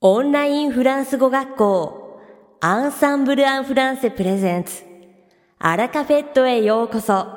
オンラインフランス語学校アンサンブル・アン・フランセプレゼンツアラカフェットへようこそ。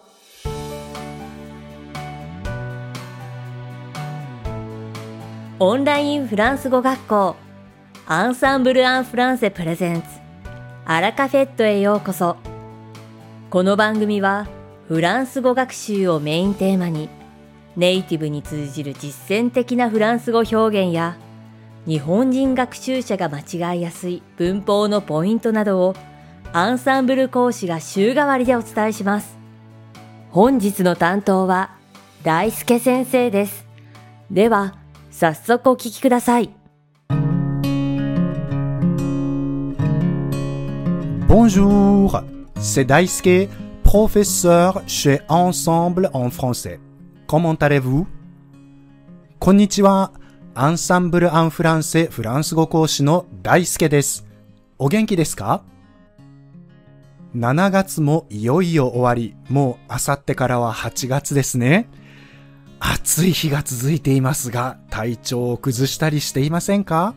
オンラインフランス語学校アンサンブル・アン・フランセプレゼンツアラカフェットへようこそ。この番組はフランス語学習をメインテーマにネイティブに通じる実践的なフランス語表現や日本人学習者が間違いやすい文法のポイントなどをアンサンブル講師が週替わりでお伝えします。本日の担当は大輔先生です。では早速お聞きください。 Bonjour, c'est Daisuke, professeur chez Ensemble en français. Comment allez-vous? こんにちは。アンサンブル・アン・フランセフランス語講師の大輔です。お元気ですか？ 7 月もいよいよ終わり、もうあさってからは8月ですね。暑い日が続いていますが、体調を崩したりしていませんか？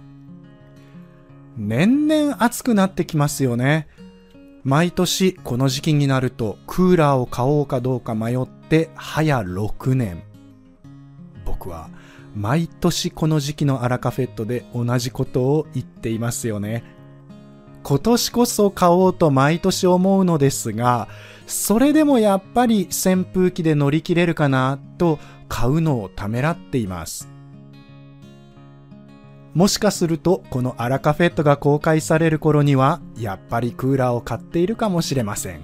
年々暑くなってきますよね。毎年この時期になるとクーラーを買おうかどうか迷って早6年。僕は毎年この時期のアラカフェットで同じことを言っていますよね。今年こそ買おうと毎年思うのですが、それでもやっぱり扇風機で乗り切れるかなと買うのをためらっています。もしかするとこのアラカフェットが公開される頃にはやっぱりクーラーを買っているかもしれません。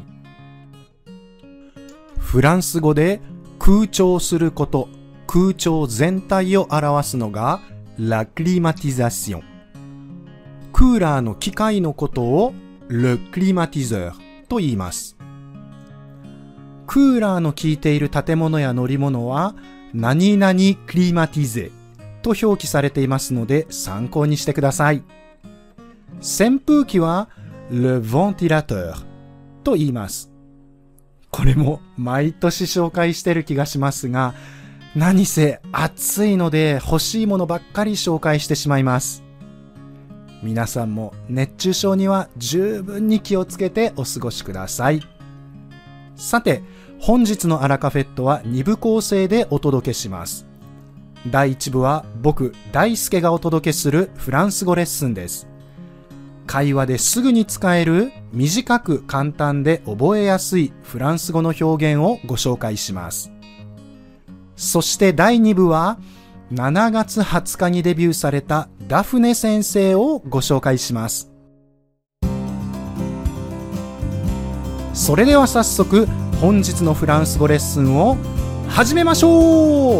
フランス語で空調すること、空調全体を表すのがラクリマティザション。クーラーの機械のことをle climatiseurと言います。クーラーの効いている建物や乗り物は何々クリマティゼと表記されていますので参考にしてください。扇風機はle ventilateurと言います。これも毎年紹介してる気がしますが、何せ暑いので欲しいものばっかり紹介してしまいます。皆さんも熱中症には十分に気をつけてお過ごしください。さて、本日のアラカフェットは2部構成でお届けします。第1部は僕、大輔がお届けするフランス語レッスンです。会話ですぐに使える短く簡単で覚えやすいフランス語の表現をご紹介します。そして第2部は7月20日にデビューされたダフネ先生をご紹介します。それでは早速本日のフランス語レッスンを始めましょう。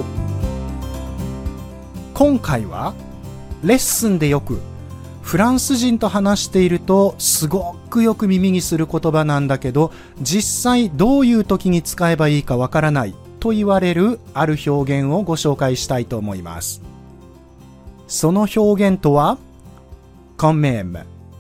今回はレッスンでよくフランス人と話しているとすごくよく耳にする言葉なんだけど、実際どういう時に使えばいいかわからないと言われるある表現をご紹介したいと思います。その表現とはquand même。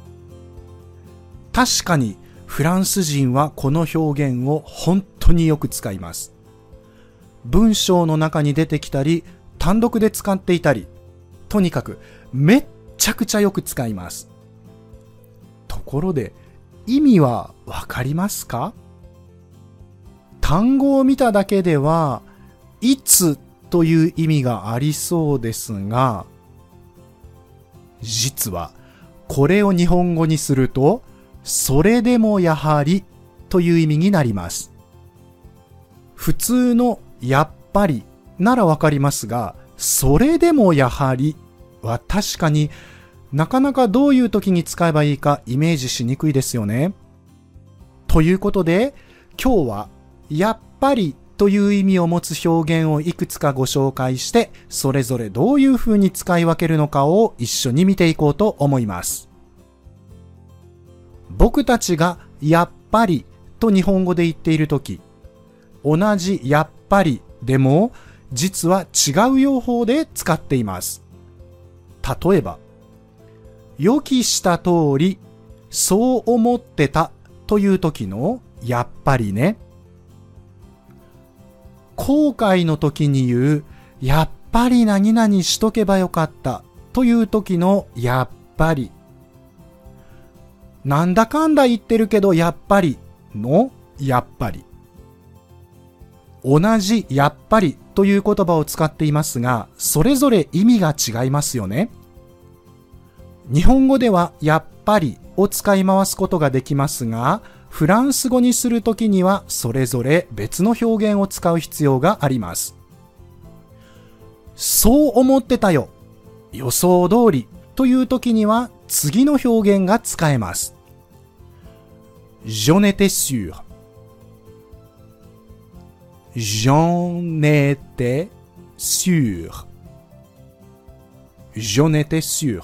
確かにフランス人はこの表現を本当によく使います。文章の中に出てきたり、単独で使っていたり、とにかくめっちゃくちゃよく使います。ところで意味はわかりますか？単語を見ただけではいつという意味がありそうですが、実はこれを日本語にするとそれでもやはりという意味になります。普通のやっぱりならわかりますが、それでもやはりは確かになかなかどういう時に使えばいいかイメージしにくいですよね。ということで今日はやっぱりという意味を持つ表現をいくつかご紹介して、それぞれどういうふうに使い分けるのかを一緒に見ていこうと思います。僕たちがやっぱりと日本語で言っているとき、同じやっぱりでも実は違う用法で使っています。例えば、予期した通りそう思ってたという時のやっぱりね。後悔の時に言うやっぱり何々しとけばよかったという時のやっぱり。なんだかんだ言ってるけどやっぱりのやっぱり。同じやっぱりという言葉を使っていますが、それぞれ意味が違いますよね。日本語ではやっぱりを使い回すことができますが、フランス語にするときにはそれぞれ別の表現を使う必要があります。そう思ってたよ、予想通りというときには次の表現が使えます。J'en étais sûr. J'en étais sûr. J'en étais sûr.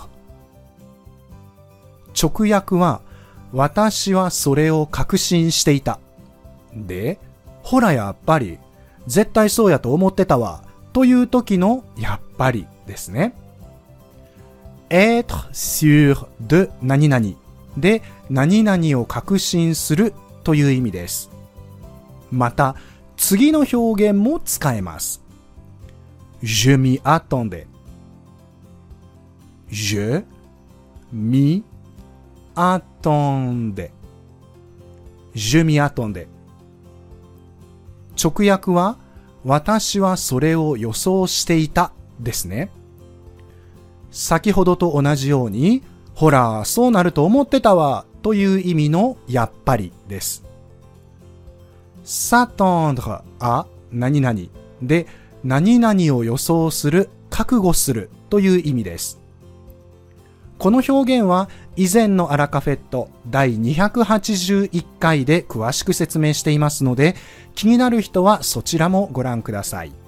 直訳は、私はそれを確信していた。で、ほらやっぱり、絶対そうやと思ってたわ。という時のやっぱりですね。être sûr de 何々で、何々を確信するという意味です。また、次の表現も使えます。Je m'y attendais. Je m'y attendais. Je m'y attendais. 直訳は、私はそれを予想していたですね。先ほどと同じように、ほら、そうなると思ってたわという意味のやっぱりです。s'attendre à 何々で、何々を予想する、覚悟するという意味です。この表現は以前のアラカフェット第281回で詳しく説明していますので、気になる人はそちらもご覧ください。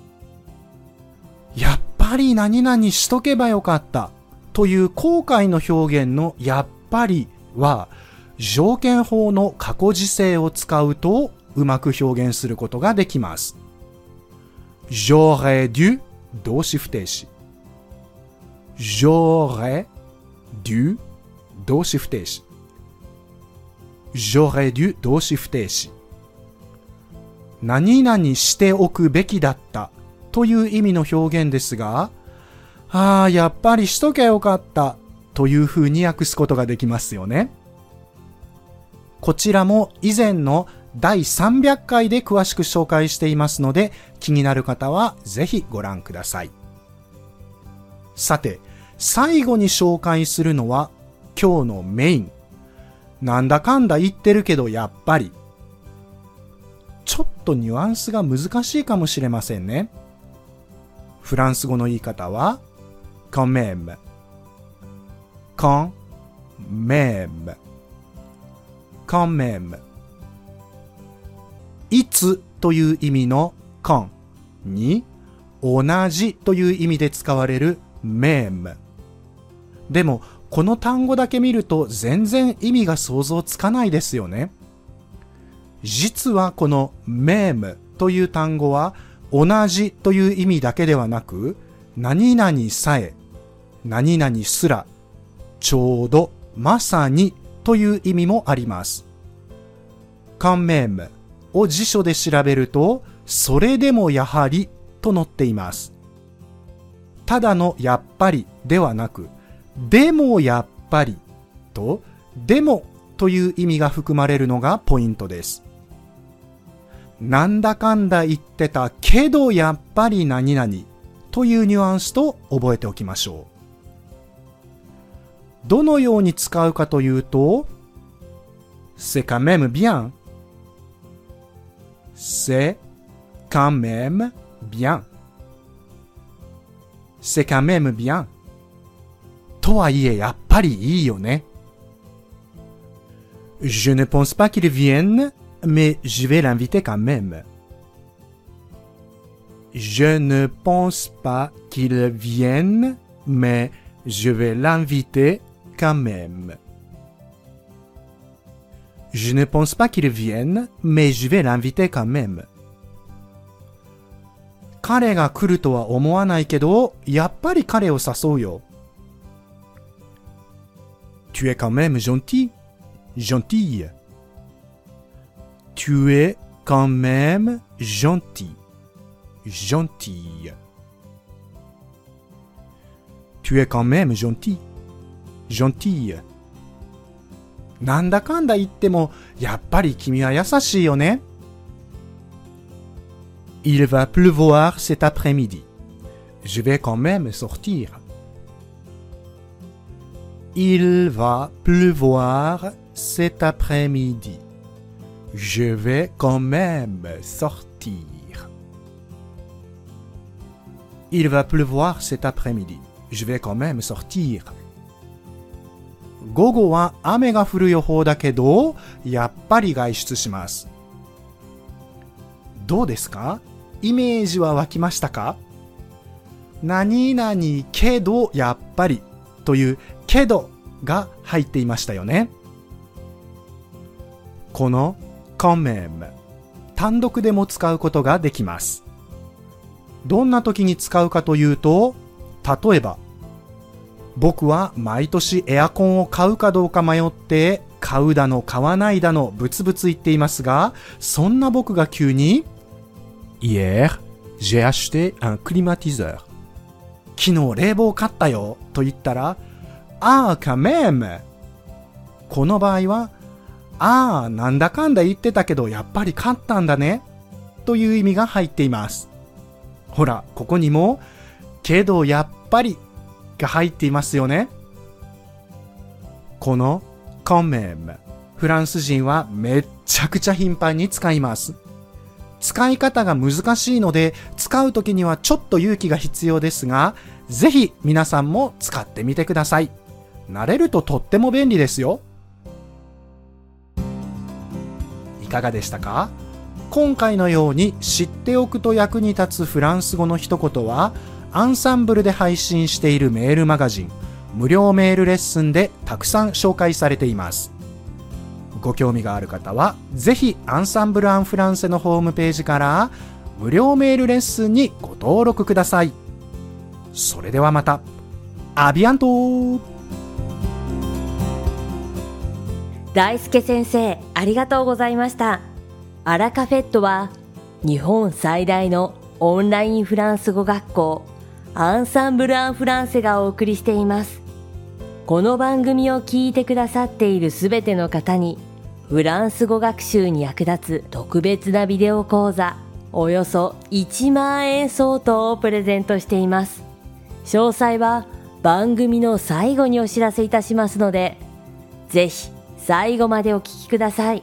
やっぱり何々しとけばよかったという後悔の表現のやっぱりは、条件法の過去時制を使うとうまく表現することができます。j'aurais dû 動詞不定詞。j'aurais dû 動詞不定詞。j'aurais dû 動詞不定詞。何々しておくべきだったという意味の表現ですが、やっぱりしとけよかったというふうに訳すことができますよね。こちらも以前の第300回で詳しく紹介していますので、気になる方はぜひご覧ください。さて、最後に紹介するのは今日のメイン。なんだかんだ言ってるけどやっぱり。ちょっとニュアンスが難しいかもしれませんね。フランス語の言い方はquand même, quand même, quand même。いつという意味の quand に同じという意味で使われる même。でもこの単語だけ見ると全然意味が想像つかないですよね。実はこの même という単語は同じという意味だけではなく、何々さえ、何々すら、ちょうど、まさにという意味もあります。quand mêmeを辞書で調べると、それでもやはりと載っています。ただのやっぱりではなく、でもやっぱりと、でもという意味が含まれるのがポイントです。なんだかんだ言ってたけどやっぱり何々というニュアンスと覚えておきましょう。どのように使うかというと、c'est quand même bien。c'est quand même bien。c'est quand même bien。とはいえやっぱりいいよね。Je ne pense pas qu'il vienne, mais je vais l'inviter quand même. Je ne pense pas qu'il vienne, mais je vais l'inviter quand même. Je ne pense pas qu'il vienne, mais je vais l'inviter quand même. 彼が来るとは思わないけど、やっぱり彼を誘うよ。Tu es quand même gentil, gentille. Tu es quand même gentil, gentille. Tu es quand même gentil. Gentille. なんだかんだ言っても、やっぱり君は優しいよね。Il va pleuvoir cet après-midi. Je vais quand même sortir. Il va pleuvoir cet après-midi. Je vais quand même sortir. Il va pleuvoir cet après-midi. Je vais quand même sortir. 午後は雨が降る予報だけど、やっぱり外出します。どうですか？イメージは湧きましたか？何々けどやっぱりというけどが入っていましたよね。このquand même、単独でも使うことができます。どんな時に使うかというと、例えば、僕は毎年エアコンを買うかどうか迷って買うだの買わないだのブツブツ言っていますが、そんな僕が急に Hier, j'ai acheté un climatiseur. 昨日冷房買ったよと言ったら、あーquand même。この場合は、あーなんだかんだ言ってたけどやっぱり買ったんだねという意味が入っています。ほら、ここにもけどやっぱりが入っていますよね。このquand même、フランス人はめっちゃくちゃ頻繁に使います。使い方が難しいので、使うときにはちょっと勇気が必要ですが、ぜひ皆さんも使ってみてください。慣れるととっても便利ですよ。いかがでしたか？今回のように知っておくと役に立つフランス語の一言は、アンサンブルで配信しているメールマガジン、無料メールレッスンでたくさん紹介されています。ご興味がある方は、ぜひアンサンブル・アン・フランセのホームページから無料メールレッスンにご登録ください。それではまた。アビアント。 大輔先生、ありがとうございました。アラカフェットは日本最大のオンラインフランス語学校アンサンブル・アン・フランセがお送りしています。この番組を聞いてくださっているすべての方にフランス語学習に役立つ特別なビデオ講座およそ1万円相当をプレゼントしています。詳細は番組の最後にお知らせいたしますので、ぜひ最後までお聞きください。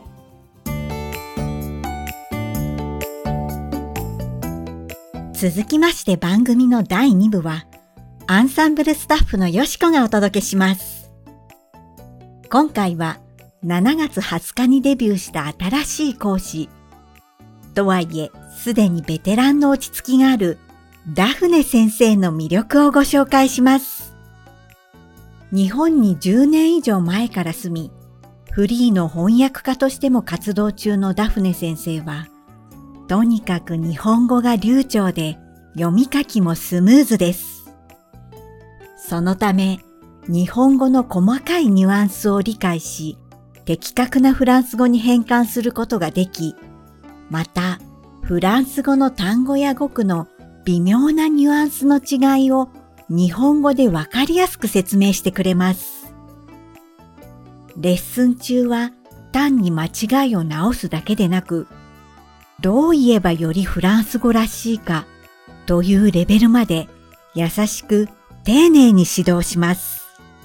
続きまして番組の第2部は、アンサンブルスタッフのよしこがお届けします。今回は7月20日にデビューした新しい講師。とはいえ、すでにベテランの落ち着きがあるダフネ先生の魅力をご紹介します。日本に10年以上前から住み、フリーの翻訳家としても活動中のダフネ先生は、とにかく日本語が流暢で読み書きもスムーズです。そのため、日本語の細かいニュアンスを理解し、的確なフランス語に変換することができ、また、フランス語の単語や語句の微妙なニュアンスの違いを日本語でわかりやすく説明してくれます。レッスン中は単に間違いを直すだけでなく、どう言えばよりフランス語らしいかというレベルまで優しく丁寧に指導します。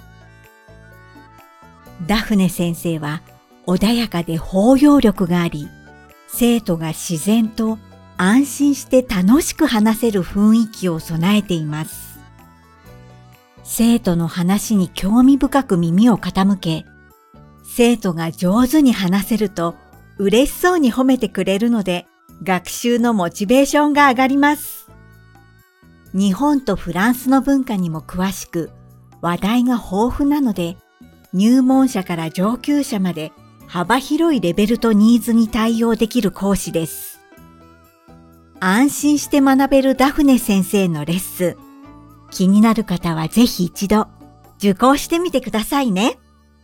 ダフネ先生は穏やかで包容力があり、生徒が自然と安心して楽しく話せる雰囲気を備えています。生徒の話に興味深く耳を傾け、生徒が上手に話せると嬉しそうに褒めてくれるので、学習のモチベーションが上がります。日本とフランスの文化にも詳しく、話題が豊富なので、入門者から上級者まで幅広いレベルとニーズに対応できる講師です。安心して学べるダフネ先生のレッスン、気になる方はぜひ一度受講してみてくださいね。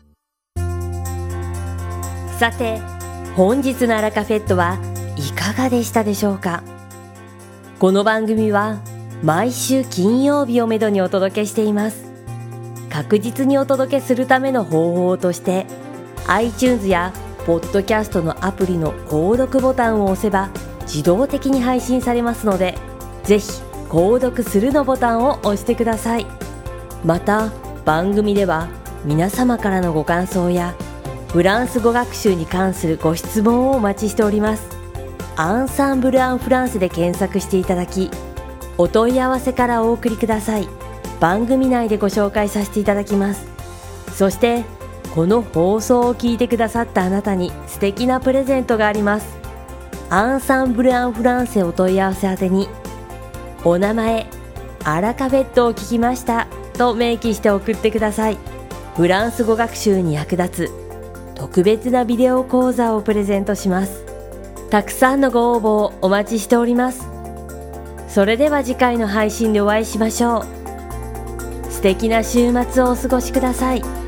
さて、本日のアラカフェットはいかがでしたでしょうか。この番組は毎週金曜日をめどにお届けしています。確実にお届けするための方法として、iTunes やポッドキャストのアプリの購読ボタンを押せば自動的に配信されますので、ぜひ購読するのボタンを押してください。また、番組では皆様からのご感想やフランス語学習に関するご質問をお待ちしております。アンサンブル・アン・フランセで検索していただき、お問い合わせからお送りください。番組内でご紹介させていただきます。そして、この放送を聞いてくださったあなたに素敵なプレゼントがあります。アンサンブル・アン・フランセお問い合わせ宛てに、お名前、アラカフェットを聞きましたと明記して送ってください。フランス語学習に役立つ特別なビデオ講座をプレゼントします。たくさんのご応募をお待ちしております。それでは次回の配信でお会いしましょう。素敵な週末をお過ごしください。